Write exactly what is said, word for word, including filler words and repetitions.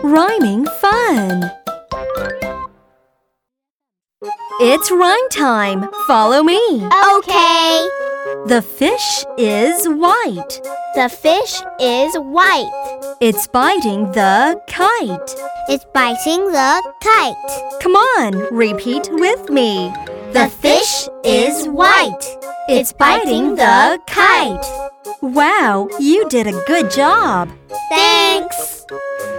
Rhyming fun! It's rhyme time! Follow me! Okay. The fish is white. The fish is white. It's biting the kite. It's biting the kite. Come on, repeat with me. The fish is white. It's biting the kite. Wow, you did a good job! Thanks.